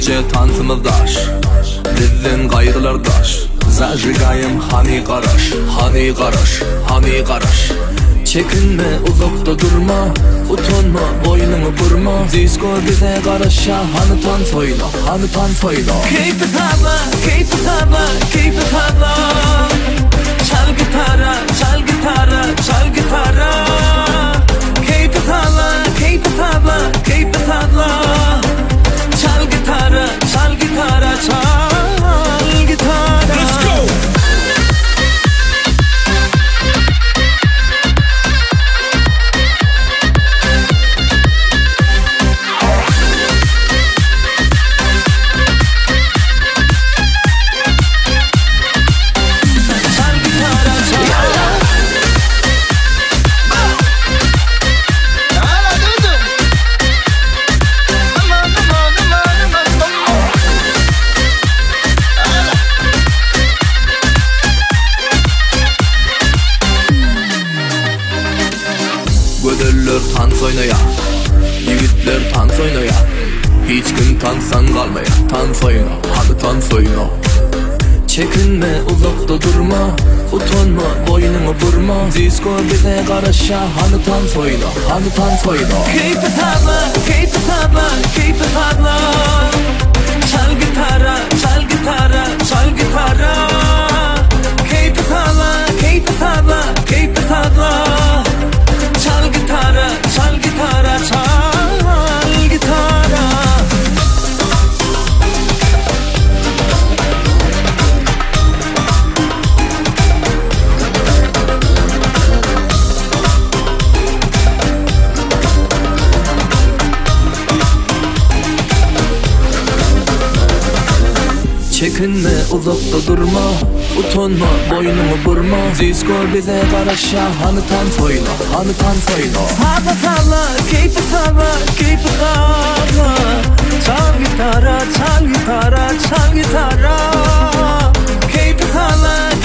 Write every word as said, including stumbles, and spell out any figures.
gece tantımızdaş, bizden gayrılardaş. Zajigayım hani qaraş, hani qaraş, hani qaraş. Çekinme, uzakta durma, utanma, boynunu burma. Disco bize qarasha, hani tan soyla, hani tan soyla. Keep it hava, keep it hava, keep it hava. Çal gitara, çal gitara, çal gitara. Keep it hava, keep it hava, keep it hava. Çal gitara, çal gitara, çal gitara. Let's go! Gödüller tans oynaya, yigitler tans oynaya. Hiç kim tanssan kalmaya, tans oyna, hadi tans oyna. Çekinme, uzakta durma, utanma, boynunu burma. Disco bize qarasha, hani tans oyna, hani tans oyna. Keep it hava, keep it hava, keep it hava. Çal gitara, çal gitara, çal gitara. Keep it hava, keep it hava, keep it hava. Çal gitara, çal gitara, çal gitara. Çekinme, uzakta durma, utanma, boynunu burma. Disco bize qarasha, hani tans oyna, hani tans oyna. Hava hava, keep it hava, keep it hava. Çal gitara, çal gitara, çal gitara. Keep it hava,